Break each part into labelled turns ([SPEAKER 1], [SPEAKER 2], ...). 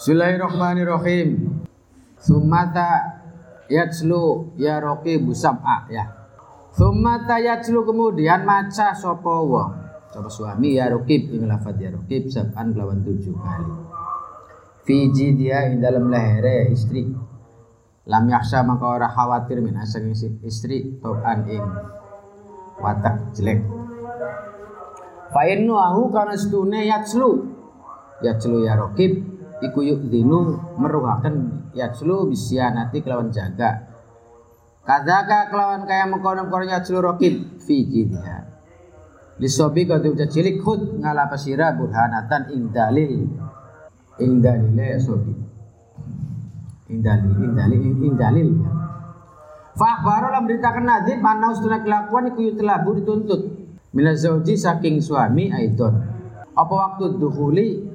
[SPEAKER 1] Bismillahirrahmanirrahim. Summata yatslu ya raqibu sab'a ya. Summata yatslu kemudian maca sapa wong. Sapa suami ya raqib ing lafadz ya raqib sab'an kelawan 7 kali. Fi jidya ing dalam lehere istri. Lam yakhsha maka ora khawatir min asang istri toban ing watak jelek. Fa innahu kana stune yatslu ya raqib iku yudhinu meruhaken yatslu bisyanati kelawan jaga. Kadzaka kelawan kaya mengkono-kono yatslu raqib fi jidha. Lisobi kadu cilik khud ngala pasira burhanatan ing dalile sobi. Ing dalil. Fa akhbaro lam beritakan nadib ana ustuna kelakuan iku yutlabu dituntut minaz zauji saking suami aidon. Apa waktu dukhuli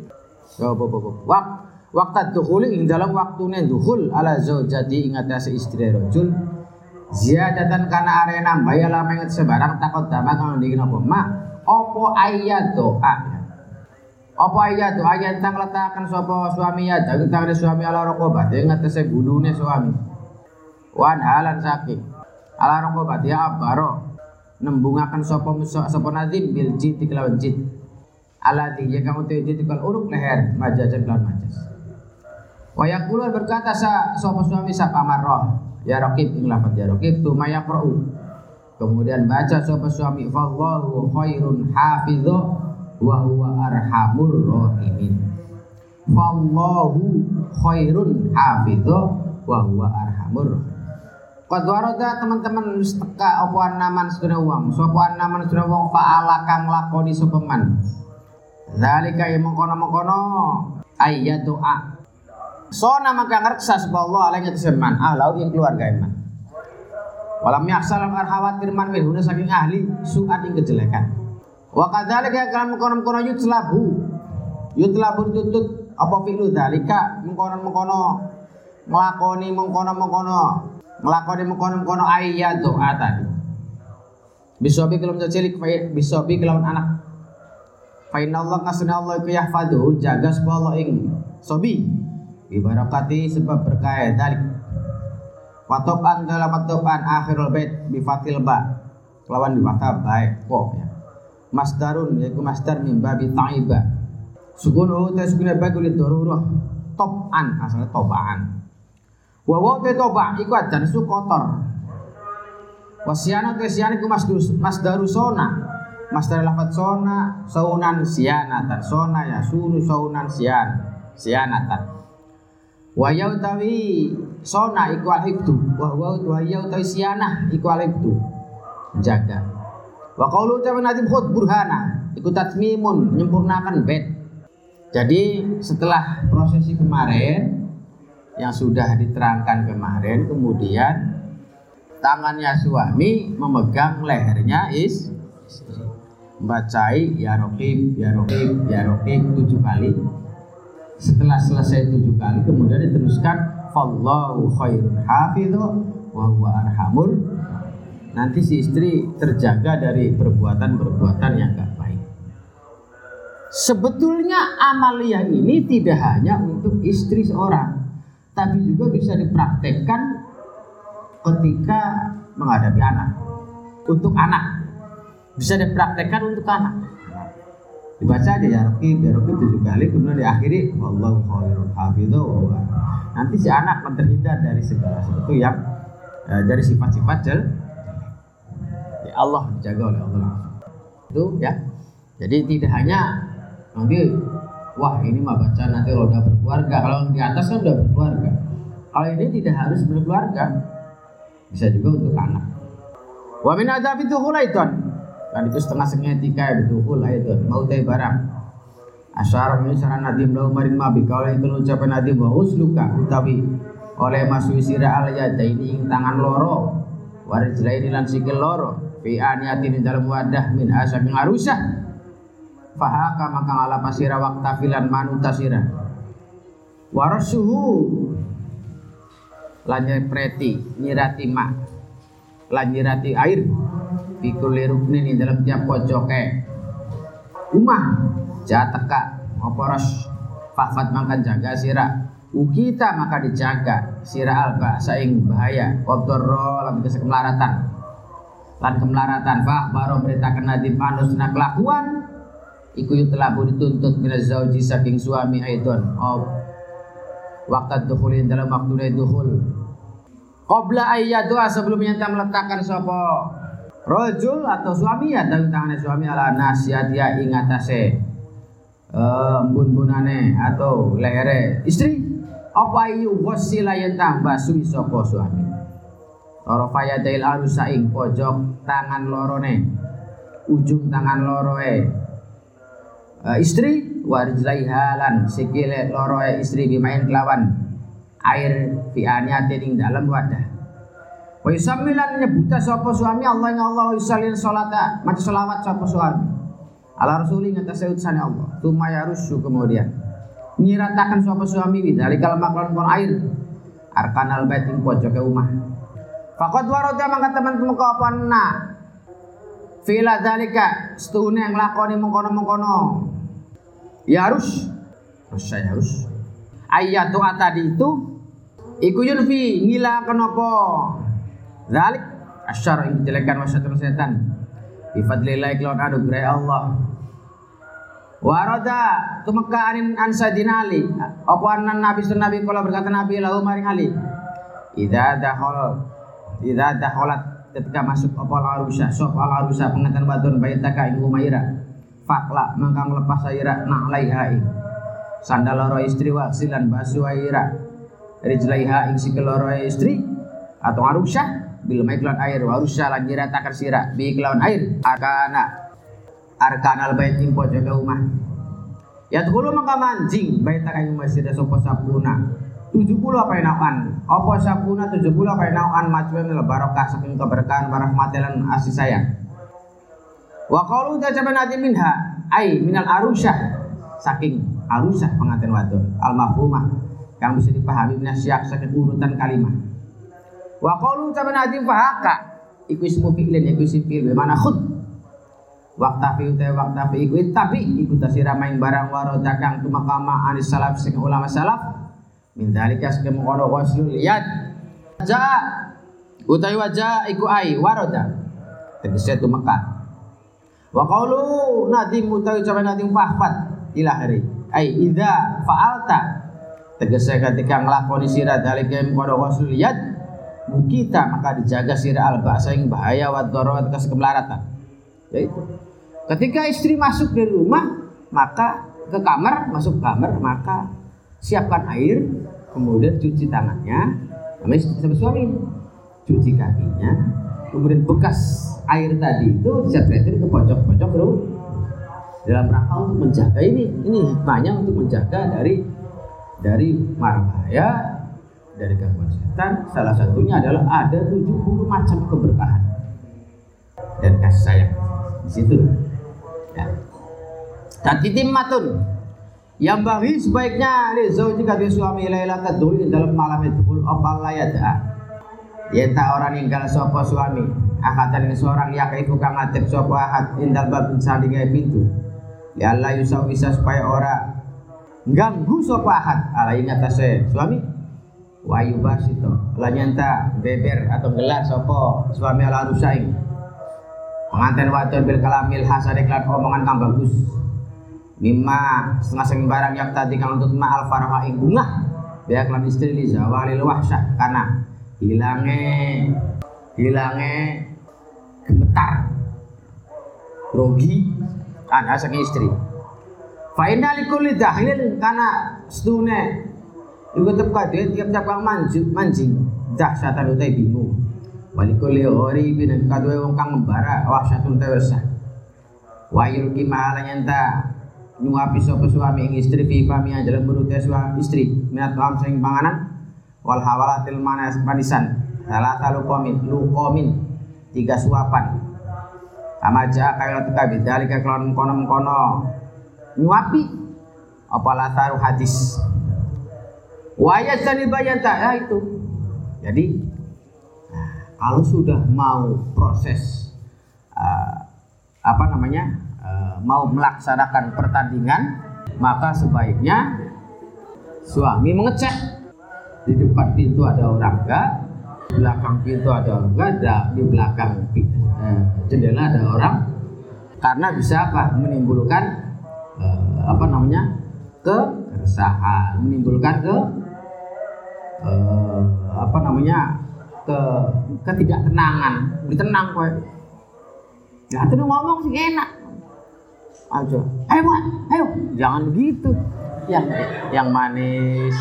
[SPEAKER 1] waktu dukhuli ing dalam waktune dukhul ala zaujati ing atase istri rajul ziyadatan kana are nambah ya lameng sebarang takut dama kang ndiki napa mak apa ayat doa ayat tang letakan sapa suami ya daging tangane suami ala raqobat ing atase gulune suami wan halan saking ala raqobat ya abaro nembungaken sapa nazim bil jid kelawan jid alati ya kamu tejid kal uruk leher majajan lan majas. Wa yaqulu berkata sapa suami sapa marrah ya raqib ing lafaz ya raqib tu mayaqra'u. Kemudian baca sapa suami wallahu khairun hafidhu wa huwa arhamur rahimin. Wallahu khairun hafidhu wa huwa arhamur rahimin. Qad warada teman-teman wis teka apa anaman sedaya wong. Sapa anaman sedaya wong fa'ala kang lakoni sapa man. Zalika yang mengkono-mengkono ayat doa. So nama kang reksa subhanallah alaihi wasallam ahlau yang keluarga iman. Walam yaksalam khawatir man minhuna saking ahli su'at ing kejelekan. Wa kadzalika kalam mengkono-mengkono yutlabu tutut apa fi'lu zalika mengkono-mengkono nglakoni mengkono ayat doa tadi. Bisobi kelum cilik bisobi kelawan anak. Fa inna Allah kasuna Allah iku yahfadhu jaga sapa Allah ing sobi bi barakati sebab berkah dalik wa toban dalam toban akhirul bait bi fatil ba lawan di mata baik kok ya masdarun yaiku masdar min babi ta'iba sukunu tasbina bagul darurah toban asalnya tobaan wa te toba iku adan su kotor wasiana iku masdarusona Masdar lafadz sona saunan sianatan sona ya sunu saunan sianatan wa yautawi sona iku alhibdu wa yautawi sianah iku alhibdu jaga wa qaulu ta'ala nadim khud burhana iku tatmimun menyempurnakan bait. Jadi setelah prosesi kemarin yang sudah diterangkan kemarin kemudian tangannya suami memegang lehernya istri membacai ya raqib 7 kali. Setelah selesai 7 kali kemudian diteruskan fallahu khairun hafidhu wa huwa arhamur. Nanti si istri terjaga dari perbuatan-perbuatan yang enggak baik. Sebetulnya amaliyah ini tidak hanya untuk istri seorang, tapi juga bisa dipraktekkan ketika menghadapi anak. Untuk anak bisa dipraktekkan untuk anak. Dibaca aja ya raqib 7 kali kemudian diakhiri wallahu khairul hafidhu. Nanti si anak akan terhindar dari segala sesuatu yang dari sifat-sifat jelek. Ya Allah dijaga oleh Allah. Itu ya. Jadi tidak hanya nanti wah ini mah baca nanti kalau udah berkeluarga. Kalau di atas kan udah berkeluarga. Kalau ini tidak harus berkeluarga. Bisa juga untuk anak. Wa min adzabi dukhulaitan. Dan itu setengah sengetika betul ayatun mau teh barang asyara misaran nadim lau maring mabi kalau itu ucapan nadim wa usluka utawi oleh masui sira al yadaini ing tangan loro warijlaini lan sikil loro fi aniyatin dalam wadah min asam arusah fahaka maka ala pasira waqta filan manutasira warasuhu lan preti nyirati mak lan nyirati air pikul ruknin di dalam tiap pojok umah jataka oporos fahfad mangkan jaga sira ukita maka dijaga sira alba saing bahaya wadorro lan kemelaratan fahbaro beritakan nadim anusna kelakuan iku telah dituntut minaz zauji saking suami aidon waktu dukhulin dalam waktu dukhul qabla ayyadua sebelumnya tak meletakkan sapa rajul atau suami atau tangannya suami ala nasiatia ing atase embun-bunane atau lehere istri apa ayu ghusila yen tambah suwi sapa suami tarafaya dail arusa ing pojok tangan lorone ujung tangan loroe istri warijlaiha lan sikile loroe istri bimain kelawan air fi aniyatin ing dalam wadah wa yusammilan nyebuta sapa suami Allah ing Allah yusallin salata maca selawat sapa suami ala rasuli ngatasé utusane Allah tumaya rusu kemudian nyiratakan sapa suami widzalikal maklon kon air arkanal bait ing pojoke omah faqad warada mangka teman-teman apa na fila dzalika stune nglakoni mengkono-mengkono ya harus ayat doa tadi itu iku yunfi ngilaken apa zalik asyar ing dijelekan wasyatun setan bi fadlillah kelawan anugerah Allah warada tumeka anin ansadina ali apa anan nabi sunnabi kala berkata nabi lahu maring ali idza dakhalat ketika masuk apa al-arusha pengantin wadon baitaka ing umaira fakla mangka nglepas aira na'laiha ing sandal loro istri wa silan basu aira rijlaiha ing sikil loro istri atau arusha bil maiklan air wa arusha lan nyiratakan sira bi kelawan air arkanal bait ing pojoke omah ya dulu mangka manjing baitaka ing masjid sapa sapuna 70 apa enakan apa sapuna 70 apa enakan macem barokah saking keberkahan warahmatan asih sayang wa qalu tajaban ati minha ai minal arusyah saking arusyah pengantin wadon al mafhumah yang bisa dipahami minasyak saking urutan kalimat wa qalu tajaban ati fahaka iku ismu fi'lin iku isim fi'il mana khud waqtafi iku tapi iku tasira main barang waroda kang tumakama anis salaf sing ulama salaf min dalika saking mengkono waslul yad ja utawi wajah iku ai waroda tegese tumeka wa qaulu nadim utawi ucapan nadim fahfat ila hari ai idza fa'alta tegese ketika nglakoni sira dalika mengkono waslul yad mukita maka dijaga sira albasa ing bahaya wa darawat kemelaratan yaitu ketika istri masuk dari rumah maka ke kamar masuk kamar maka siapkan air kemudian cuci tangannya sama suami cuci kakinya kemudian bekas air tadi itu disetretin ke pojok-pojok dalam rangka untuk menjaga ini hikmahnya untuk menjaga dari mara bahaya dari gangguan setan. Salah satunya adalah ada 70 macam keberkahan dan kasih sayang di situ ya. Tatitimmatun yang bagi sebaiknya li zauji kadhe suami lailata dulu dalam malam itu opal layada yen tak orang ninggal sapa suami akatan seorang yakaifu kang ngadeg sapa ahad indal bab sampinge pintu ya Allah yusau bisa supaya ora ganggu sapa ahad ala ing atase suami wa yubasito la nyanta beber atau gelar sapa suami ala rusaing pengantin wadon bil kalamil hasan iklan omongan kang bagus mimma setengah barang yang tadi kang untuk ma'al farha ing bunga biak lan istri li zawalil wahsyah karena hilange gemetar grogi ana saking istri fa inna likulli dahlin kana stune iku tep tiap-tiap kang manjing dahsyatan utai bingung walikuli ori bin kadue wong kang membara wahsyatun tawasah wa yulki mahala nyanta nyuapi sapa suami ing istri fi fami dalam perut istri minat lam sing panganan wal hawalatil manas manisan salata luqamin 3 suapan amaja kaya teka bidalika kelon kono nyuapi apa latar hadis wa yasani bayanta ya itu jadi kalau sudah mau proses mau melaksanakan pertandingan maka sebaiknya Suami mengecek di depan pintu ada orang enggak, di belakang pintu ada orang enggak, di belakang jendela ada orang, karena bisa apa? Menimbulkan keresahan, menimbulkan ketidaktenangan. Ditenang kowe. Ya itu ngomong sih enak aja. Ayo, jangan begitu. Yang manis.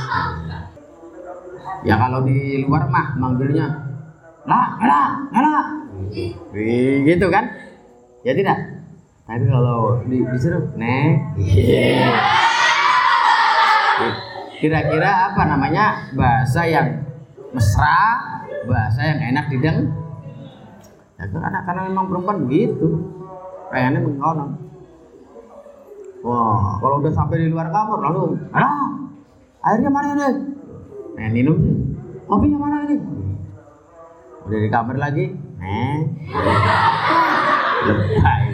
[SPEAKER 1] Ya kalau di luar mah manggilnya lah. Gitu kan? Ya tidak. Tapi kalau disuruh nek. Kira-kira apa namanya? Bahasa yang mesra, bahasa yang enak didengar. Ya karena memang perempuan begitu. Pengennya mengkonon. Wah, kalau udah sampai di luar kamar lalu, airnya mana ini? Minum sih. Kopinya mana ini? Udah di kamar lagi, lebay.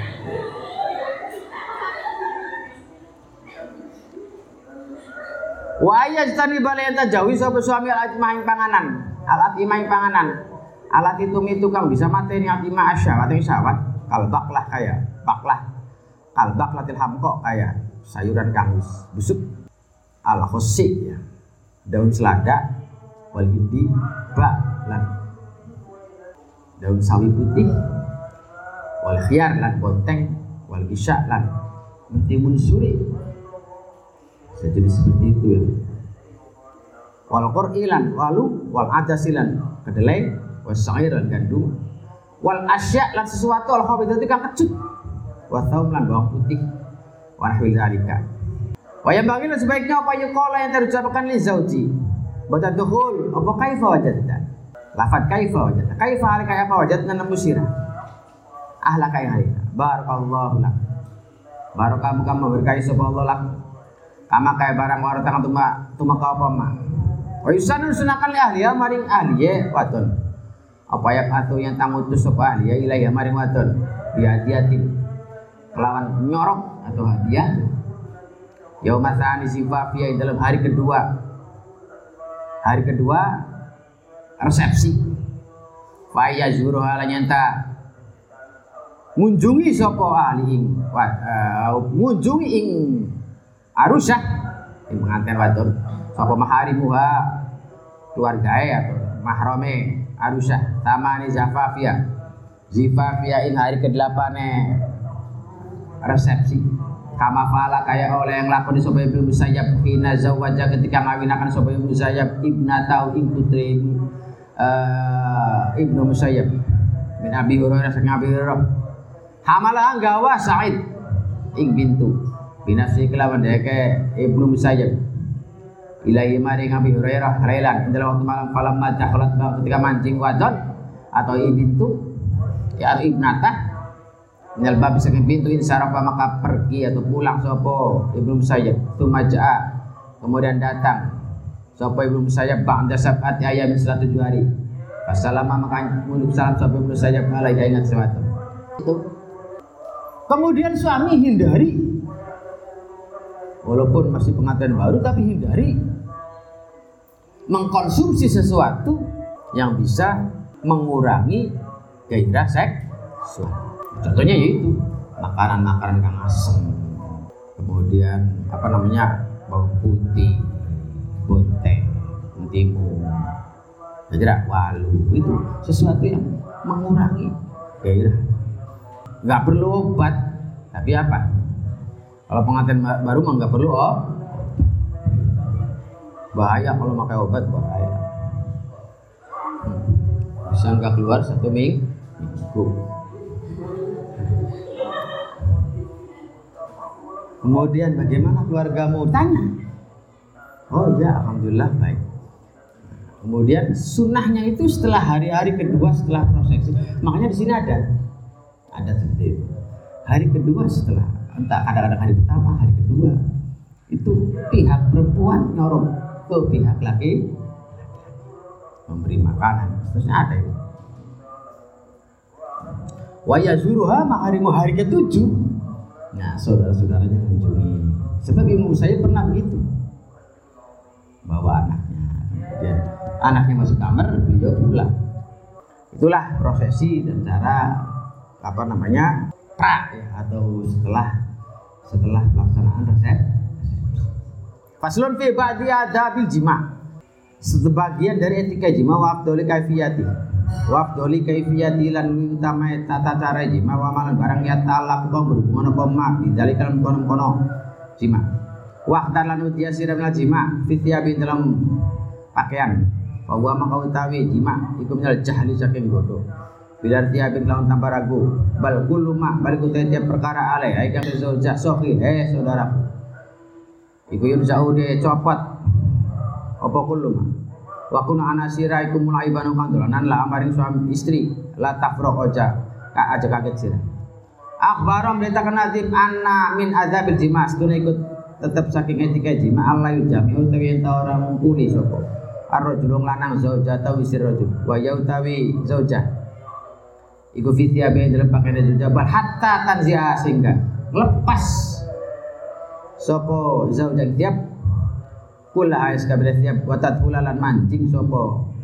[SPEAKER 1] Waya jtani balenta jawi sapa suami alat maing panganan. Alat imaing panganan. Alat itu kang bisa mateni atima asyawat ing syawat. Kalbaklah kaya baklah. Kalbaklatil hamko kaya sayuran kang busuk. Al khosi ya. Daun selada wal hindi lan daun sawi putih wal khiyar lan bonteng wal isya lan mentimun suri. Jadi seperti itu ya. Wal qur'ilan walu wal adasilan kedelai was sairan gandum wal asya lan sesuatu al khabithati kang kecut wa thaum lan bawang putih wa nahwi zalika. Wa yang bagi sebaiknya apa yuqala yang terucapkan li zauji. Baca dukhul apa kaifa wajadta. Lafaz kaifa wajadta. Kaifa alika apa wajadna namusira. Ahla kaya barakallahu lak. Barokah muka berkahi sapa Allah lak. Kama kaya barang waratang tumaka apa ma. Wa yusanun sunakan li ahli ya maring ahli wadon. Apa ya atu yang tangutus sapa ahli ya ilahi maring wadon. Hadiatin kelawan nyorok atau hadiah. Yaumatan sifafia dalam hari kedua. Hari kedua resepsi. Fa yazuru halanyanta ngunjungi sapa ahli ing ngunjungi ing Arusah yang pengantin wadon sapa maharimuha keluargae atau mahrame Arusah tamani zafafia in hari ke-8 resepsi kama fala kaya oleh yang lakoni sapa Ibnu Musayyab hina zawaja ketika ngawinakan sapa Ibnu Musayyab ibnatau ing putri Ibnu Musayyab min Abi Hurairah sang Abi Hurairah hamalah gawa Sa'id ing bintu binafsi kelawan deke Ibnu Musayyab ilahi maring Abi Hurairah lailan dalam waktu malam falamma dakhalat ketika mancing wadon atau ibintu ya ibnatah minal bab saking pintu insarafa maka pergi atau pulang sapa Ibnu Musayyab tumaja kemudian datang sapa Ibnu Musayyab ba'da sab'ati ayamin setelah 7 hari Wassalama maka muluk salam sapa Ibnu Musayyab alaihi ingat sesuatu itu kemudian suami hindari walaupun masih pengantin baru tapi hindari mengkonsumsi sesuatu yang bisa mengurangi gairah seksual. Contohnya yaitu makanan-makanan yang asam, kemudian bawang putih, bonteng, mentimun, walu itu sesuatu yang mengurangi gairah. Nggak perlu obat, tapi apa? Kalau pengantin baru mah nggak perlu bahaya kalau pakai obat bahaya. Bisa nggak keluar 1 minggu. Kemudian bagaimana keluargamu? Tanya. Oh iya, alhamdulillah baik. Kemudian sunnahnya itu setelah hari-hari kedua setelah prosesi. Makanya di sini ada seperti itu. Hari kedua setelah entah kadang-kadang hari pertama, hari kedua itu pihak perempuan nyorong ke pihak laki memberi makanan, terusnya ada itu. Wa yazuruha maharimu hari ke-7. Nah, saudara-saudaranya mengunjungi. Sebab Ibnu Musayyab pernah begitu. bawa anaknya. Kemudian anaknya masuk kamar, beliau pulang. Itulah prosesi dan cara pra ya, atau setelah pelaksanaan resepsi. Faslun fi ba'di adabil jima'. Sebagian dari etika jima wa afdholi kaifiyati. Wa afdholi kaifiyati lan utama tata cara jima wa malan barang ya talak kok berhubungan apa ma bidzalika kono jima. Wa lan utiya sirah jima fi thiyabi dalam pakaian. Wa huwa maka utawi jima iku minal jahli saking bodoh. Bilar thiyabi lawan tanpa ragu. Bal kullu ma bal tiap perkara alai ai kang zaujah sohi saudaraku. Iku yun saude copot apa kullu ma. Wa kuna anasira iku mulai banu kang dolanan la amaring suami istri la tafroq aja kaget sira. Akhbaram beritakan nadim anna min adzabil jima' stune ikut tetap saking etika jima Allah yujami utawi enta ora mumpuni sapa ar-rajul lanang zaujah ta wisir rajul wa ya utawi zaujah iku fitia be dalam pakaian zaujah bal hatta tanzia sehingga lepas sapa zaujah tiap kula ais kabeh tiap watat kulalan mancing sapa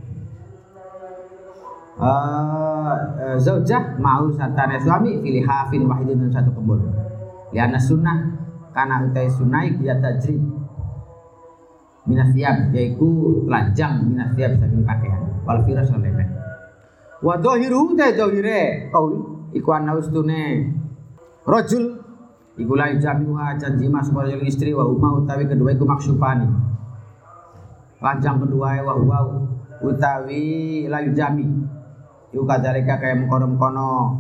[SPEAKER 1] zaujah mau sartane suami pilih hafin wahidin satu kembul liana sunnah karena utai sunai dia tajrid minas siap yaitu telanjang minas siap saking pakaian wal firas lan lemek wa dhahiru ta dhahire qaul iku ana ustune rajul iku la jami'uha janjima supaya istri wa umma utawi kedua iku maksufani telanjang kedua wa huwa utawi la jami iku kadalika kaya mengkono-mengkono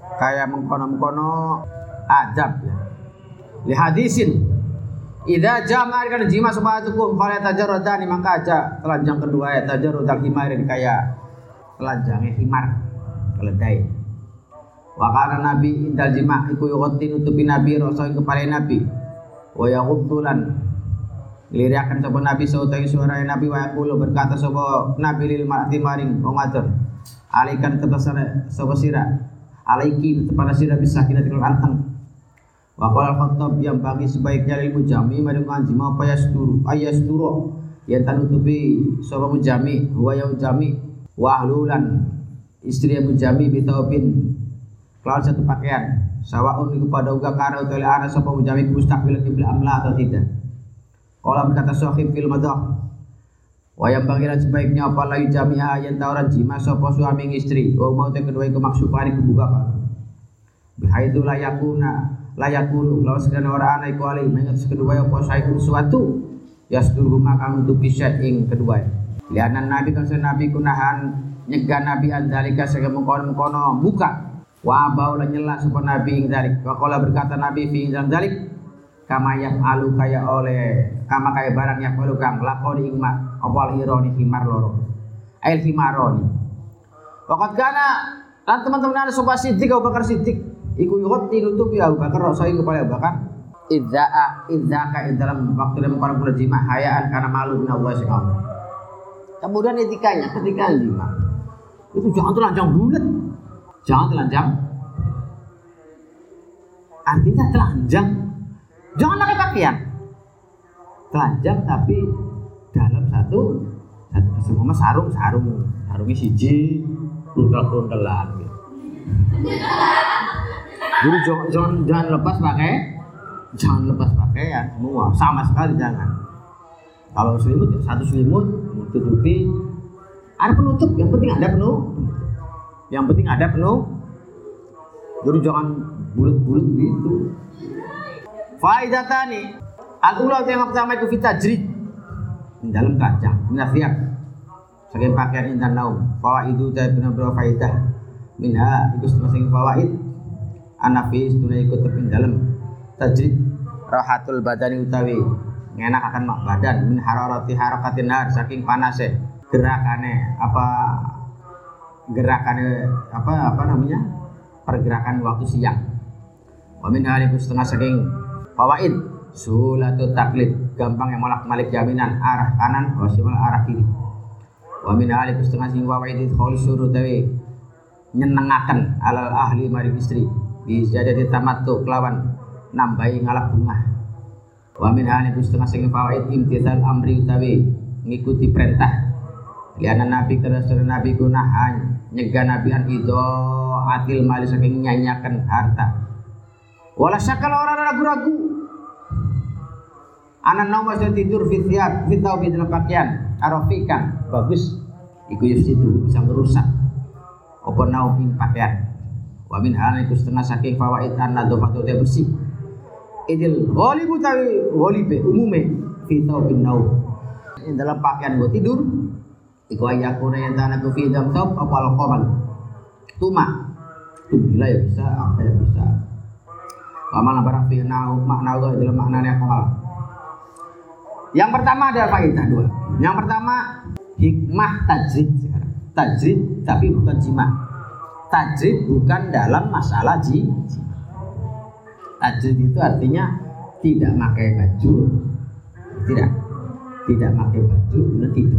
[SPEAKER 1] adab ya li hadisin idza jama'a kan jima subhatukum fala tajarradani maka aja telanjang kedua ya tajarrudal himarin kaya telanjangnya himar keledai wa kana nabi indal jima' iku yughatti nutupi nabi rasa ing kepala nabi wa yaghuddulan liriakan sapa nabi sautai suara nabi wa yaqulu berkata sapa nabi lil mar'ati maring wong wadon alikan tebasane sapa sira alaiki kepada sira bisa kinatul anteng. Wa qala al-Khattab yang bagi sebaiknya lil mujami maring anjima apa ayasturu yang tanutupi sapa mujami huwa ya mujami wa ahlulan istri mujami bitaubin kelawan satu pakaian sawaun iku pada uga karo tele ana sapa mujami mustaqbil qibla amla atau tidak. Qala berkata sahib fil madah wa yang bagian sebaiknya apa layu jami'a yang tauran jima sapa suami istri wa mau te kedua iku maksufani kebuka kan bihaitu layakunu lawan sekiranya orang anak iku alih mengat kedua apa saikun suatu yasdur rumah kamu tupi ing kedua lianan nabi kan nabi kunahan nyegah nabi andalika sehingga mengkono buka wa abau lan nyela sapa nabi ing dalik wa qala berkata nabi fi ing dalik kama yafalu kaya barang yafalu kang lakoni ing mak apa ironi himar loro ail himaroni waqad kana lan teman-teman ana sapa Siddiq Abu Bakar Siddiq iku yughatti nutupi Abu Bakar rasai kepada Abu Bakar idzaka dalam waktu dalam para jima hayaan karena malu bin Allah subhanahu. Kemudian etikanya ketika jima itu jangan telanjang bulat, jangan telanjang artinya telanjang jangan pakai pakaian telanjang tapi dalam satu semua sarungnya siji kruntel-kruntelan gitu. Jadi jangan lepas pakaian semua sama sekali jangan. Kalau selimut ya satu selimut tutupi ada penutup yang penting ada penuh. Jadi jangan bulat-bulat gitu. Faidatani al-ula yang pertama itu fitajrid dalam kaca minasiap sebagai pakaian intan naum fawaidu dan benar-benar faidah minha itu setengah fawaid anafis tunai ikut teping dalam tajrid rahatul badani utawi ngenak akan mak badan min harakatin nar saking panase gerakannya pergerakan waktu siang wa min haliku setengah saking fawaid sulatut taklid gampang yang molak-malik jaminan arah kanan wasimal arah kiri wa min haliku setengah saking fawaid khaul suruh tawi nyenengaken alal ahli maring istri bisa jadi tamattu kelawan nambahi ngalap bunga wa min haliku setengah saking fawaid imtithal amri utawi ngikuti perintah. Liana Nabi kerasulan Nabi gunahan nyegah Nabi an ido atil mali saking nyanyakan harta. Wala syakal orang ragu-ragu. Anak nama sudah tidur fitiab fitau di dalam pakaian arofikan bagus. Iku itu bisa merusak. Apa nau ing pakaian. Wa min hal iku setengah saking fawaid an-nadhafatu dia bersih. Idil ghalibu tawi ghalibe umume fitau bin nau. Dalam pakaian buat tidur. Iku ayakuna yang tanah ku fi dalam top apa alqamal. Tuma. Gila ya bisa, apa ya bisa. Amal barang fi nau makna dalam maknanya kamal. Yang pertama ada faedah dua. Yang pertama hikmah tajrid sekarang. Tajrid tapi bukan jima. Tajrid bukan dalam masalah jima. Tajrid itu artinya tidak pakai baju, tidak pakai baju, kemudian tidur.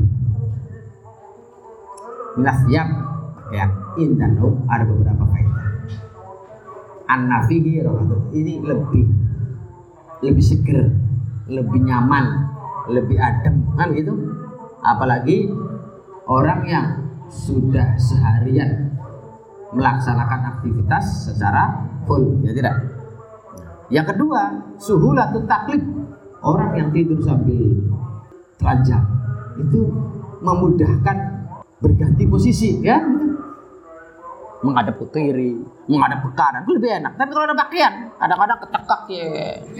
[SPEAKER 1] Minasiap pakaian indan ada beberapa faedah. An-nafihi ini lebih seger, lebih nyaman, lebih adem kan gitu. Apalagi orang yang sudah seharian melaksanakan aktivitas secara full, ya tidak. Yang kedua, suhulatut taklif. Orang yang tidur sambil telanjang itu memudahkan berganti posisi, ya gitu. Menghadap ke kiri, menghadap ke kanan itu lebih enak. Tapi kalau ada pakaian, kadang-kadang ketekak ya.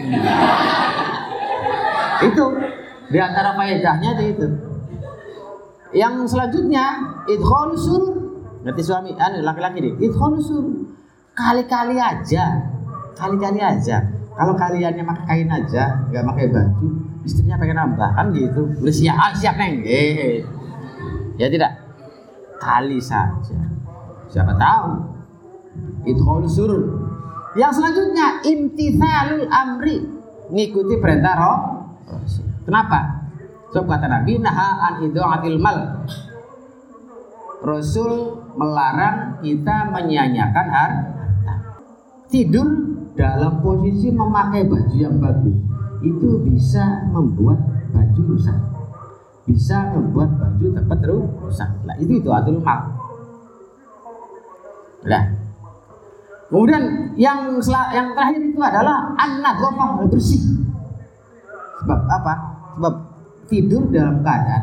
[SPEAKER 1] Itu di antara faedahnya itu. Yang selanjutnya idkhalus surur. Berarti suami laki-laki nih, idkhalus surur. Kali-kali aja. Kalau kaliannya pakai kain aja, nggak pakai baju, istrinya pengen nambah kan gitu. Udah siap neng. Ya tidak. Kali saja. Siapa tahu. Idkhalus surur. Yang selanjutnya imtithalul amri. Ngikuti perintah Rasul. Kenapa? Sebab kata Nabi naha an idha'atil mal. Rasul melarang kita menyanyiakan harta. Tidur dalam posisi memakai baju yang bagus itu bisa membuat baju rusak. Bisa membuat baju cepat rusak. Nah, itu atul mal. Nah. Kemudian yang terakhir itu adalah an-nadhafah, bersih. Sebab apa? Sebab tidur dalam keadaan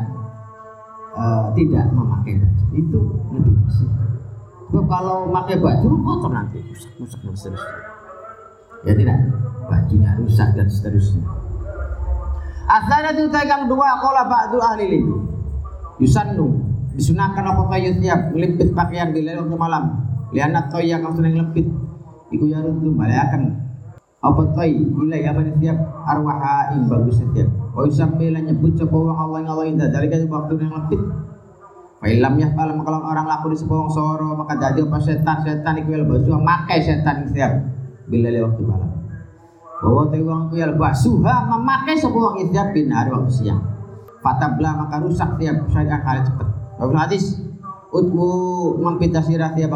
[SPEAKER 1] tidak memakai baju itu lebih bersih. Sebab kalau memakai baju kotor nanti rusak dan seterusnya. Ya tidak, bajunya rusak dan seterusnya. As-sanatu tagang dua qala ba'du ahli ilmi. Yusannu disunahkan apa kayu tiap ngelipit pakaian bila waktu malam. Lianat toy yang kamu senang lempit. Iku yarutu balayakan apa toy ila yaman tiap arwaha in bagus setiap. Wa yusammila nyebut sapa wong Allah yang Allah indah dari waktu yang lempit. Fa illam yafal kalau orang laku di sepawang soro maka jadi apa setan iku lebasu makai setan setiap bila waktu malam. Bahwa tewang ku yalbasuha memakai sebuah istiab bin hari waktu siang. Fatabla maka rusak tiap syariat kali cepat. Bagus hadis utmu mempita sirah tiap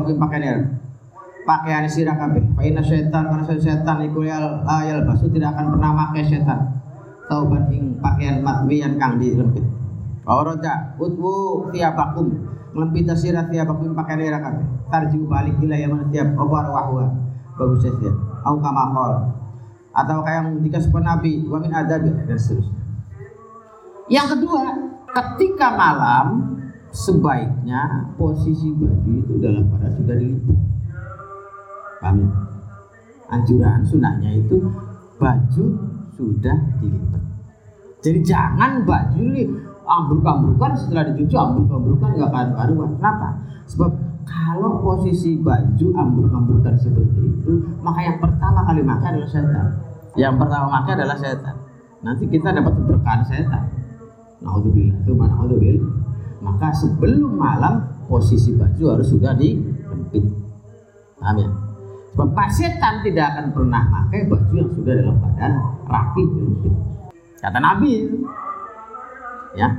[SPEAKER 1] pakaian sirah kabeh. Fa inna syaitan karena setan iku yalbasu tidak akan pernah memakai setan. Tauban ing pakaian matwiyan kang dilempit. Oroja utmu tiabakum lempita sirah tiap pakaian sirah kabeh. Tarjiu balik ila yaman tiap obar wahwa. Bagus setiap. Au kama qol. Atau kayak dikasih Nabi wa min adabi dan seterusnya. Yang kedua, ketika malam sebaiknya posisi baju itu dalam keadaan sudah dilipat. Paham ya? Anjuran sunahnya itu baju sudah dilipat. Jadi jangan baju ini ambruk-ambrukan setelah dicuci ambruk-ambrukan enggak karu-karuan. Kenapa? Sebab kalau posisi baju ambruk-ambrukan seperti itu, maka yang pertama kali makan adalah setan. Yang pertama makan adalah setan. Nanti kita dapat keberkahan setan. Naudzubillah. Maka sebelum malam posisi baju harus sudah dilempit. Paham ya? Sebab setan tidak akan pernah pakai baju yang sudah dalam keadaan rapi dilempit. Kata Nabi. Ya.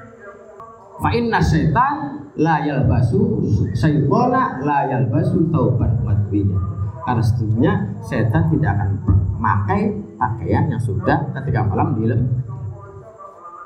[SPEAKER 1] Fa inna syaitan la yalbasu syaitana la yalbasu tauban matwiya. Karena sesungguhnya setan tidak akan memakai pakaian yang sudah ketika malam dilempit.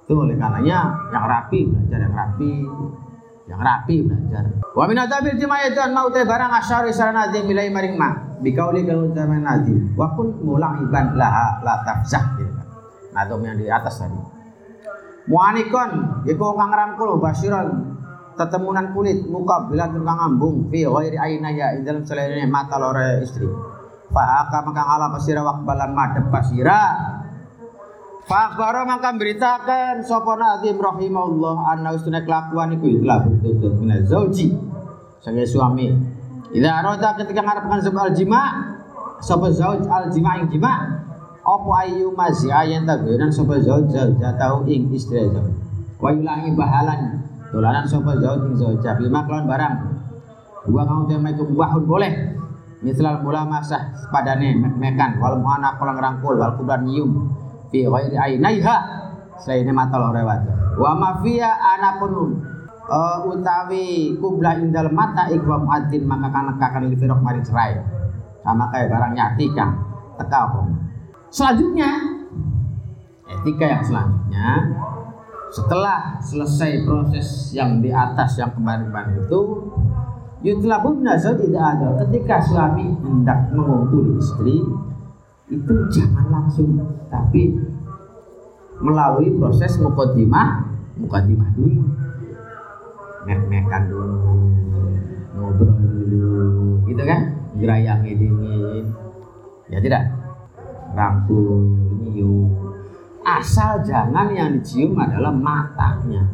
[SPEAKER 1] Itu oleh karenanya yang rapi belajar, yang rapi belajar. Wa min adabil jimayatan mau teh barang asyari saranati milai maring ma bikauli kalau zaman nadi wa kun mula'iban laha la tafzah gitu kan. Nah itu yang di atas tadi. Muanikon iku kang rangkul basiran tetemunan kulit muka bila kang ngambung fi ghairi ainaya ing dalam selainnya mata lore istri. Fa aka maka ala pasira waqbalan madhep pasira. Fa akhbara maka beritakan sapa Nazim rahimahullah anna usna kelakuan iku telah betul min zauji sebagai suami. Idza arada ketika ngarepkan sebab jima sapa zauj al jima ing jima apa ayu mazia yang tagunan sapa zauj tahu ing istri zauj. Wa yulangi bahalan dolanan sapa zauj ing zauj bima kelawan barang. Dua kang tema iku wahun boleh. Misalal mula masah padane mekan wal muana kolang rangkul wal kubran nyium fi ghairi ainaiha saene mata lorewat wa mafia anapun utawi kubla indal mata ikwa muadzin maka kan nekakan li firaq mari cerai sama kayak barang nyati kang teka apa selanjutnya etika yang selanjutnya setelah selesai proses yang di atas yang kemarin itu yutlabun nazar tidak ada ketika suami hendak mengumpuli istri itu jangan langsung tapi melalui proses muqaddimah dulu mek-mekan dulu ngobrol dulu gitu kan gerayangi dingin ya tidak rangkul nyium asal jangan yang dicium adalah matanya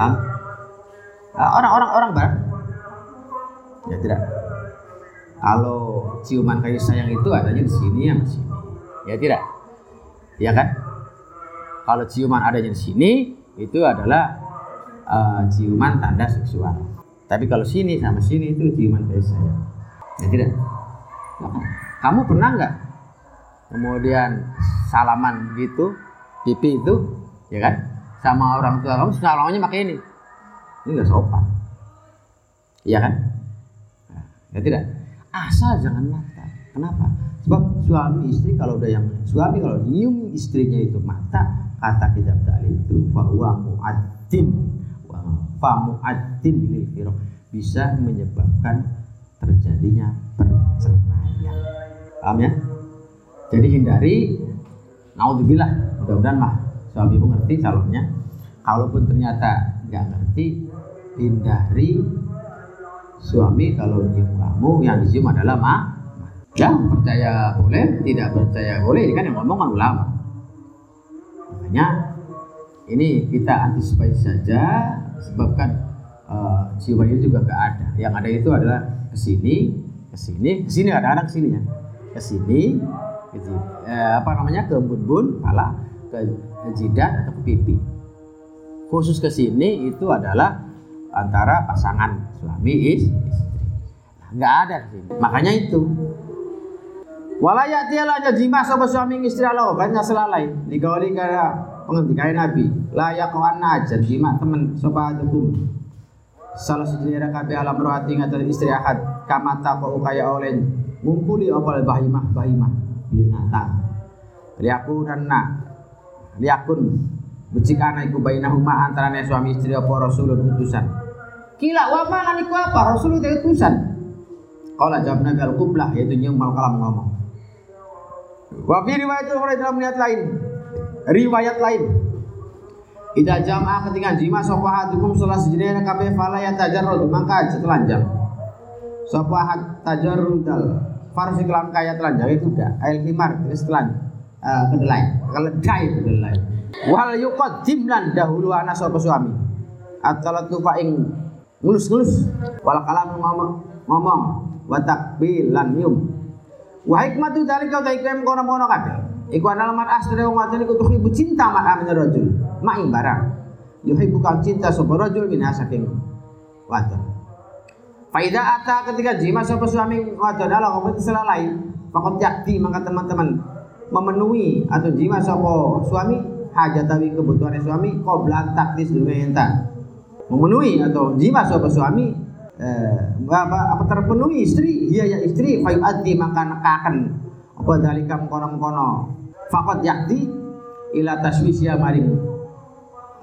[SPEAKER 1] orang barat ya tidak kalau ciuman kasih sayang itu adanya di sini yang di sini ya tidak ya kan kalau ciuman adanya di sini itu adalah ciuman tanda seksual tapi kalau sini sama sini itu ciuman kasih sayang ya tidak kamu pernah nggak kemudian salaman gitu pipi itu ya kan sama orang tua kamu salamannya pakai ini nggak sopan iya kan ya tidak asal jangan mata kenapa sebab suami istri kalau udah yang suami kalau nyium istrinya itu mata kata kitab ta'lim itu fa huwa mu'addin lil firaq bisa menyebabkan terjadinya perceraian paham ya jadi hindari naudzubillah mudah-mudahan mah suamimu ngerti calonnya kalaupun ternyata nggak ngerti hindari suami kalau nyium kamu yang dicium adalah ya percaya boleh tidak percaya boleh ini kan yang ngomong kan ulama makanya ini kita antisipasi saja sebabkan ciuman itu juga nggak ada yang ada itu adalah kesini kadang-kadang kesini ya kesini ke embun-embun pala ke jidat atau ke pipi khusus kesini itu adalah antara pasangan suami istri nggak ada sini makanya itu walayati ala jima sapa suami istri Allah banyak selalai dikawali kaya pengendikan Nabi layak kawana aja jima temen sapa hukum salah sejenis kabeh alam rohati ngatur istri ahad kamata kau kaya oleh ngumpuli opal bahimah binatang liakun becik anak iku bainahuma antarane suami istri apa rasulun utusan kila wa ma niku apa rasul itu utusan qala jawab Nabi al-qiblah yaitu nyium kalam ngomong wa fi riwayat lain ida jamaah ketika jima sapa hadukum salah sejenis kabeh fala ya tajarrud maka telanjang sapa had tajarrudal farsi kelam kaya telanjang itu udah ail himar terus kedelai wal yuqaddim lan dahulu ana sapa suami atalatu fa ing ngelus-ngelus wal kalam ngomong wa takbil lan yum wa hikmatu dalika ta ikem kono-kono kabeh iku ana lamar asre wong wadon iku tuhibu cinta mak amin rajul mak ing barang yuhibbu kang cinta sapa rajul min saking wadon faida ata ketika jima sapa suami wadon ala ngomong selalai fakot yakti maka teman-teman memenuhi atau jima sapa suami hajatawi kebutuhan suami qoblan takdis dumayenta memenuhi atau jima sapa suami apa terpenuhi istri iya ya istri fayu'addi maka nekaken apa dalika mengkono-mengkono faqad yakti ila taswisya maring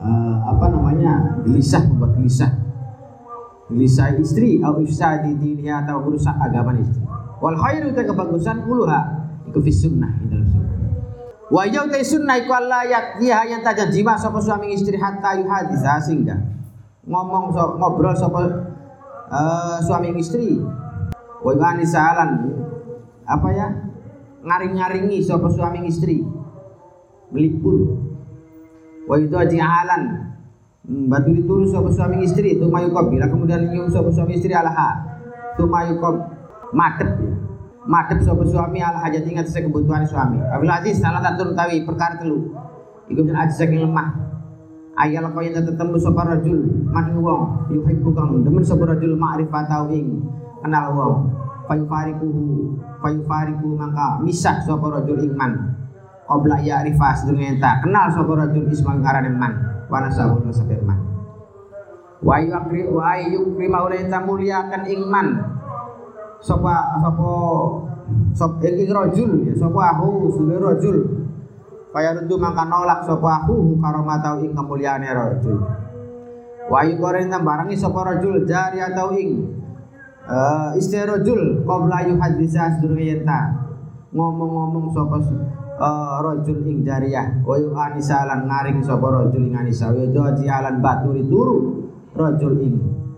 [SPEAKER 1] gelisah, membuat gelisah istri atau ifsadi diniha atau merusak agama istri. Wal khairu ta kebagusan kuluha iku fi sunnah dalam sunnah. Wa ya ta sunnah iku Allah yaktiha yang tajam jima sapa suami istri hatta yuhadisa sehingga ngobrol sapa suami istri. Wa ganisalan ngaring-ngaringi sapa suami istri melipur. Wa itu ajalan batu dituru sapa suami istri itu mayukob bila kemudian nyium sapa suami istri alaha itu mayukob madep sapa suami ala hajat ingat saya kebutuhan suami. Abil aziz salah satu tawi perkara telu iku jan ajiz saking lemah ayal kaya tetemu sapa rajul man wong yuhibbu kang demen sapa rajul ma'rifatahu ing kenal wong fayufariku mangka misah sapa rajul ing man qabla ya'rifa sedurunge ta kenal sapa rajul isma ngarane man wa nasabun sabirman wa yukri maulata muliakan ingman sapa ing rajul ya sapa ahu sule rajul kaya rundu mangka nolak sapa ahu karomatau ing kemuliaane rajul wa yukoren barangi sapa rajul jari atau ing istri rajul qabla yuhadisa sedurunge ta ngomong-ngomong sapa rajul ing jariyah wa yu'anisa lan ngaring sapa rajul ing anisa wa doji alan baturi turu rajul ing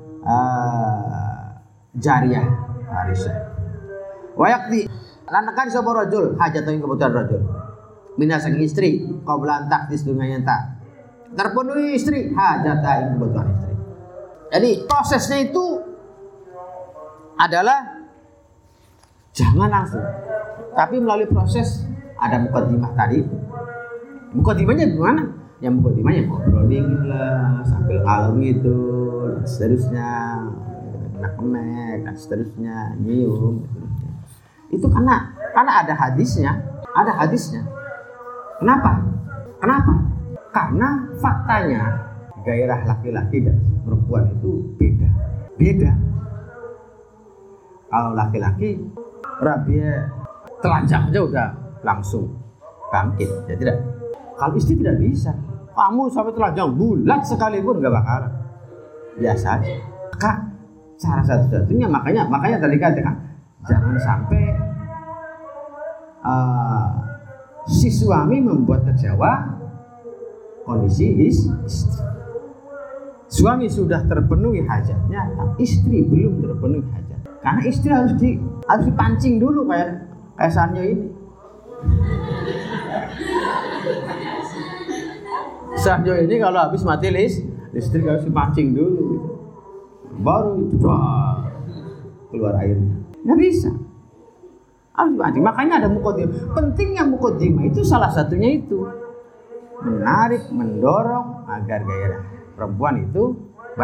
[SPEAKER 1] jariyah arisa wa yakti lan nekan sapa rajul hajat ing kebutuhan rajul minasang istri qabla taktis dunya ta terpenuhi istri hajat ing kebutuhan istri. Jadi prosesnya itu adalah jangan langsung tapi melalui proses. Ada mukadimah tadi. Mukadimahnya gimana? Yang mukadimahnya ngobrol dingin lah, sambil kalem gitu, dan seterusnya, kemek dan seterusnya, nyium, dan seterusnya. Itu karena ada hadisnya, Kenapa? Karena faktanya gairah laki-laki dan perempuan itu beda. Kalau laki-laki rabia telanjang aja udah langsung bangkit, ya tidak. Kalau istri tidak bisa, kamu sampai telanjang bulat sekalipun nggak bakal, biasa aja. Kak, cara satu-satunya makanya tadi katakan jangan sampai si suami membuat kecewa kondisi istri. Suami sudah terpenuhi hajatnya, tapi istri belum terpenuhi hajat. Karena istri harus dipancing dulu kayak Sanyo ini. Sanyo ini kalau habis mati listrik harus dipancing dulu gitu. Baru keluar airnya. Nggak bisa. Harus dipancing. Makanya ada mukodimah. Pentingnya mukodimah itu salah satunya itu menarik, mendorong agar gairah perempuan itu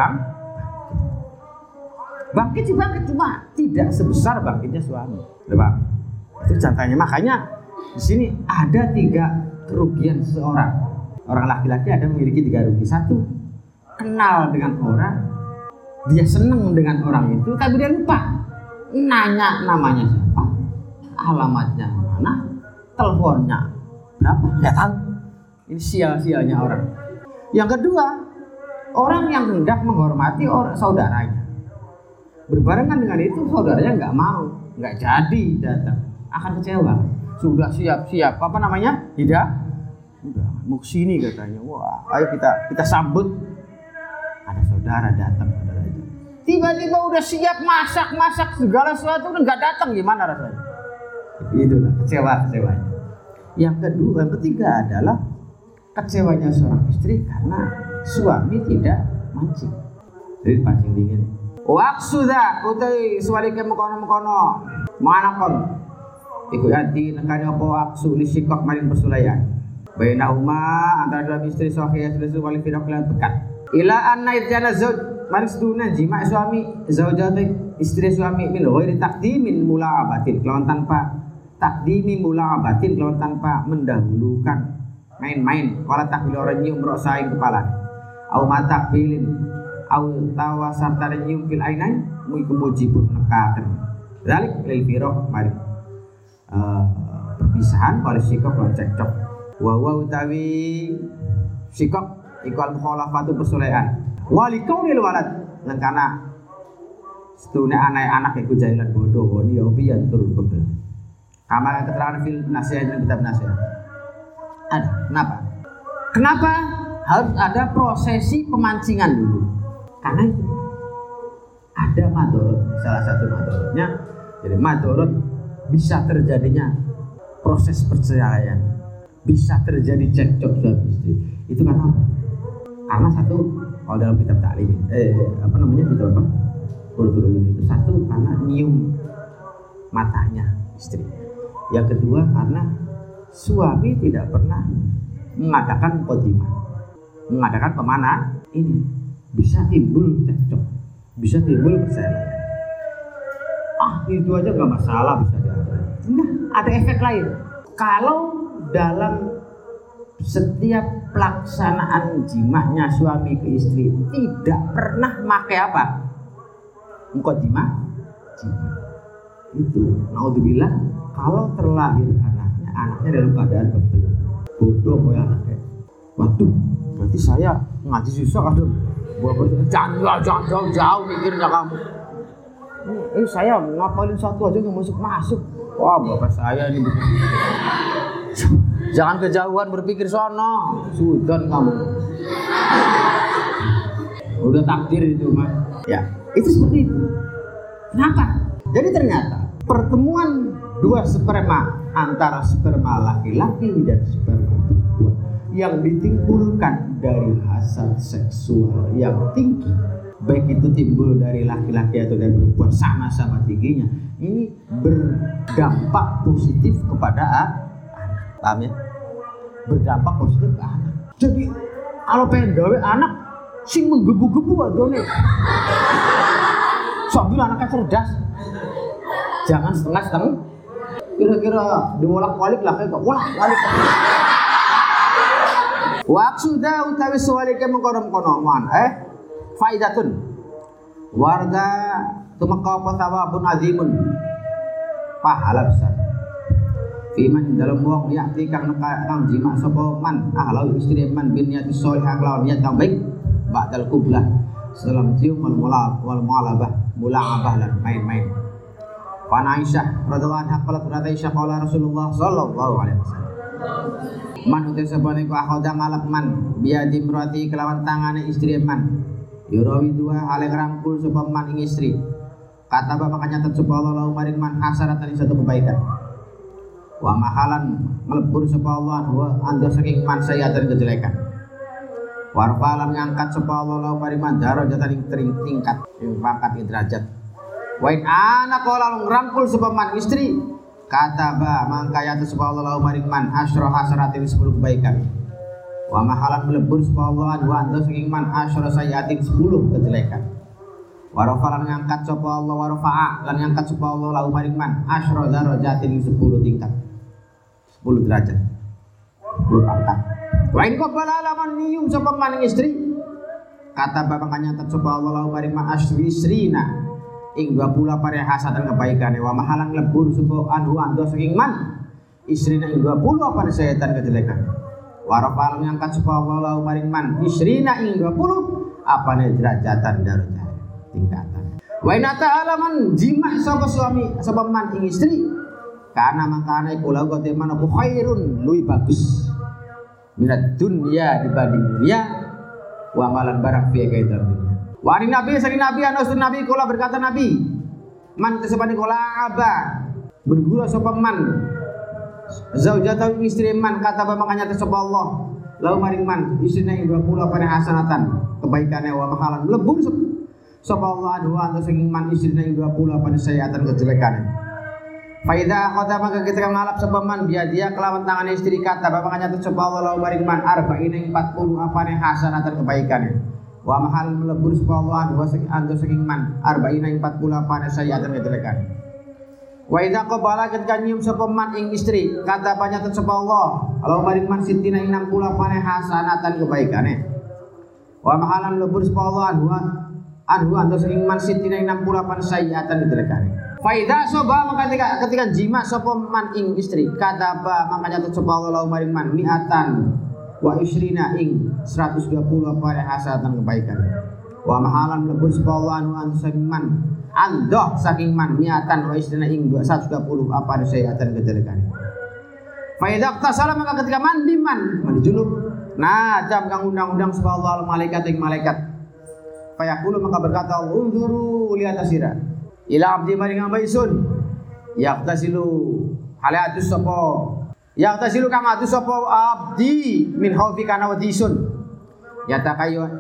[SPEAKER 1] bangkit cuma tidak sebesar bangkitnya suami. Bang. Itu contohnya. Makanya di sini ada 3 kerugian seseorang. Orang laki-laki ada memiliki 3 rugi. 1, kenal dengan orang, dia senang dengan orang itu, tapi dia lupa nanya namanya siapa, alamatnya mana, teleponnya berapa, nggak tahu. Ini sia-sianya orang. Yang kedua, orang yang hendak menghormati saudaranya, berbarengan dengan itu saudaranya nggak jadi datang, akan kecewa. Sudah siap-siap tidak udah mau sini katanya. Wah, ayo kita sambut. Ada saudara datang, saudara itu tiba-tiba udah siap masak segala sesuatu, udah nggak datang, gimana rasanya? Itulah kecewanya. Yang ketiga adalah kecewanya seorang istri karena suami tidak mancing. Jadi pancing dingin. Waksuda utai sualike mengkono manakon iku ati nekane apa waksu lisikok maring persulayan baina antara dua istri sahih sesuatu wali firaq lan pekat ila anna idjana zauj maring seduna jima suami zaujati istri suami min ghairi taqdimin mula'abatin kelawan tanpa mendahulukan main-main wala takbil orang nyium rosaing kepala au matakbilin au tawasarta nyium fil ainain mugi kemujibun nekaken dalik lil firaq mari perpisahan oleh sikok lan cekcok wa utawi sikok iku al mukhalafatu persolehan wali kaunil walad lan kana setune anak iku jahilan bodoh woni ya pian tur bebel. Kama keterangan fil nasihat ini kitab nasihat. Ada. Kenapa harus ada prosesi pemancingan dulu? Karena itu ada madorot. Salah satu madorotnya, jadi madorot bisa terjadinya proses perceraian, bisa terjadi cekcok suami istri. Itu karena apa? Karena satu, kalau dalam kitab taklim, kitab apa? Itu satu karena nyium matanya istri. Yang kedua karena suami tidak pernah mengadakan qadimah, mengadakan pemanah. Ini bisa timbul cekcok, bisa timbul perselingkuhan. Itu aja nggak masalah, bisa diatur. Nah, ada efek lain. Kalau dalam setiap pelaksanaan jimaknya suami ke istri tidak pernah pakai apa? Muqaddimah jima. Itu naudzubillah, kalau terlahir anaknya dalam keadaan bebel, bodoh kayak anaknya. Waduh, berarti saya ngaji susah kan dong. Jangan jauh mikirnya kamu. Ini saya ngapalin satu aja nggak masuk. Wah, bapak saya ini. Jangan kejauhan berpikir sono, sudan kamu. Udah takdir itu mas. Ya, itu seperti itu. Kenapa? Jadi ternyata pertemuan dua sperma antara sperma laki-laki dan sperma perempuan yang ditimbulkan dari hasad seksual yang tinggi, baik itu timbul dari laki-laki atau dari perempuan sama-sama tingginya, ini berdampak positif kepada anak. Paham ya? Berdampak positif ke anak. Jadi kalau pengen gawe anak sing menggebu-gebu aja nih. Sambil anaknya cerdas. Jangan setengah-setengah. Kira-kira diwolak-walik lah kayak wolak-walik. Waksuda utawi suwalike mengkono-konoman faidatun warga tumeka apa thawabun azimun pahala besar fiman dalam wong yakti kang jima sapa man ahlau istri man bin niati sholihah lawan niat kang baik ba'dal qublah setelah cium wal mu'alabah mula'abah lan main-main. Fa Aisyah radhiyallahu anha qalat Aisyah qala Rasulullah sallallahu alaihi wasallam man utai sabane ku akhoda ngalap man biadi merati kelawan tangane istri man yurawi dua hale ngrangkul sapa man ing istri kata bapak nyatet sapa Allah lahu maring man hasaratan satu kebaikan wa mahalan melebur sapa Allah wa anda saking man sayatan kejelekan warfalan ngangkat sapa Allah lahu maring man darajatan ing tingkat ing pangkat derajat wa in ana qala ngrangkul sapa man istri kata mangka ya sapa Allah lahu maring man asyra hasaratin 10 kebaikan wa mahalan melebur sapa Allah wa anda saking man asyra sayatin 10 kejelekan wa rafalan ngangkat sapa Allah wa rafa'a lan ngangkat sapa Allah lahu maring man asyra darajatin 10 tingkat 10 derajat 10 pangkat wa in qabala laman niyum sapa man istri kata bapak nyatet sapa Allah lahu maring man asrisrina ing 20 pare hasatan kebaikan wa mahalang lebur sapa anhu ando saking man istrina ing 20 apa setan kejelekan wa rafal ngangkat sapa Allah lahu maring man istrina ing 20 apane derajatan darajat tingkatan wa inata alaman jima sapa suami sapa man ing istri karena mangkane kula kote man apa khairun luwih bagus minat dunya dibanding dunia wa malan barang fi kaidar dunia. Wari Nabi sering Nabi anasun Nabi kula berkata Nabi man tesepani kula aba bergula sapa man zaujatau istri man kata makanya sapa Allah lalu maring man istrina ing 20 pane hasanatan kebaikane wa mahalan lebur sapa Allah dua anta saking man istrina ing 20 pane sayatan kejelekane faida khata maka kita ngalap sapa man dia kelawan tangan istri kata makanya sapa Allah lalu maring man arba'ina ing 40 apane hasanatan kebaikane wa mahal melebur sapa Allah dua ando saking man arba'ina ing 40 apane sayatan kejelekan wa idza qabala ketika nyium sapa man ing istri kata panyaten sapa Allah lalu maring man sitina ing 60 apane hasanatan kebaikane wa mahalan melebur sapa Allah anhu ando saking man sitina ing 60 apane sayatan kejelekan fa idza soba maka ketika jima sapa man ing istri kata makanya sapa Allah lalu maring man mi'atan wa isrina ing 120 apa hasanatan kebaikan. Wa mahalan mlebur sapa Allah anu saking man andoh saking man miatan wa isrina ing 120 apa sayatan kejelekan. Fa idza tasala maka ketika mandi junub nah jam kang undang-undang sapa Allah malaikat ing malaikat. Fa yaqulu maka berkata Allah unzuru lihat asira ila abdi maring hamba isun yaqtasilu halatus sapa yaqtasilu kama atus sapa abdi min khaufi kana wadisun yata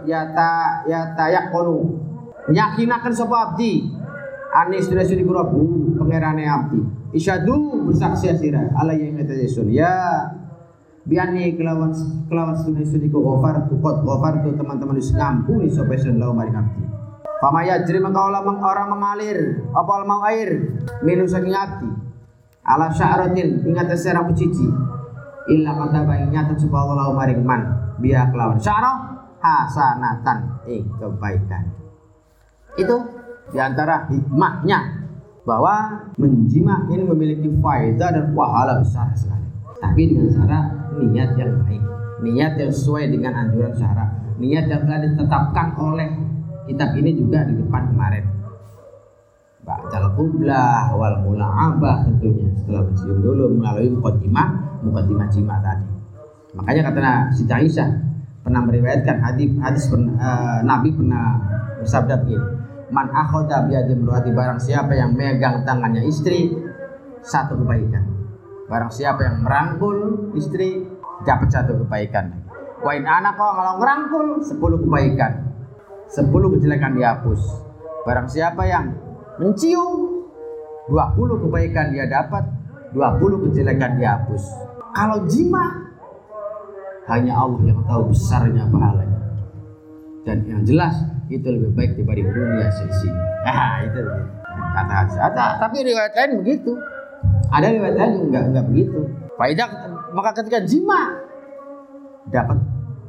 [SPEAKER 1] yaqulu yakinaken sapa abdi anis sudah suri kurabu pangerane abdi isyadu bersaksi asira ala yang kata isun ya biani kelawan suni ku ghafar tu teman-teman wis ngampuni sapa isun lau maring abdi. Fama yajri maka orang mengalir apa mau air minu saking abdi ala sya'ratin ingat serang cici illa kata baik nyata sapa Allah maring man biya kelawan sya'rah hasanatan kebaikan. Itu diantara hikmahnya bahwa menjima ini memiliki faedah dan pahala besar sekali. Tapi dengan cara niat yang baik, niat yang sesuai dengan anjuran syara, niat yang telah ditetapkan oleh kitab ini juga di depan kemarin. Ba'dal qublah wal mula'abah tentunya setelah mencium dulu melalui muqaddimah jima tadi. Makanya kata Siti Aisyah pernah meriwayatkan hadis Nabi pernah bersabda begini, man akhadha biyadi imraati barang siapa yang megang tangannya istri satu kebaikan. Barang siapa yang merangkul istri dapat satu kebaikan. Wa in ana kalau ngerangkul 10 kebaikan. 10 kejelekan dihapus. Barang siapa yang mencium 20 kebaikan dia dapat, 20 kejelekan dihapus. Kalau jima hanya Allah yang tahu besarnya pahalanya. Dan yang jelas itu lebih baik dibanding dunia seisinya. Itu kata hadis. Tapi riwayat lain begitu. Ada riwayat lain enggak begitu. Faidah maka ketika jima dapat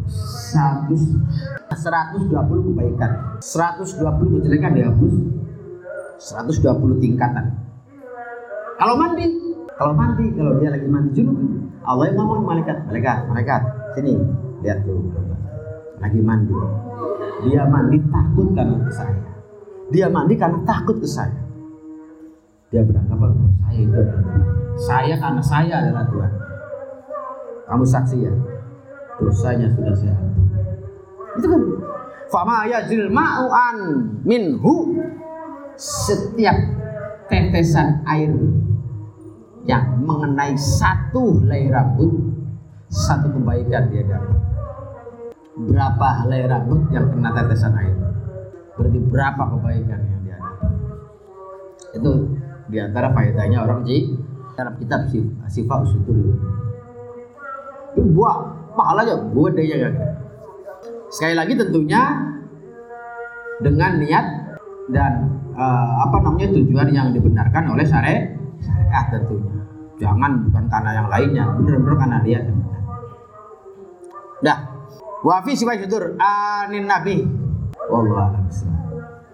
[SPEAKER 1] 120 kebaikan, 120 kejelekan dihapus, 120 tingkatan. Kalau dia lagi mandi junub, Allah yang ngomong malaikat, sini lihat tuh, lagi mandi. Dia mandi takut karena ke saya. Dia mandi karena takut ke saya. Dia beranggapan saya itu adalah saya karena saya adalah Tuhan. Kamu saksi ya, dosanya sudah saya ampuni. Itu kan fama yajil ma'u'an minhu, setiap tetesan air yang mengenai satu helai rambut, satu kebaikan dia dapat. Berapa helai rambut yang kena tetesan air, berarti berapa kebaikan yang dia dapat. Itu diantara faedahnya orang dalam kitab Sifat Usutur itu. Buat pahalanya gede ya. Sekali lagi tentunya dengan niat dan tujuan yang dibenarkan oleh syariat tentunya. Jangan bukan karena yang lainnya, benar-benar karena niat yang benar. Dah. Wa fi Sifat Usutur anin Nabi. Wallahu a'lam.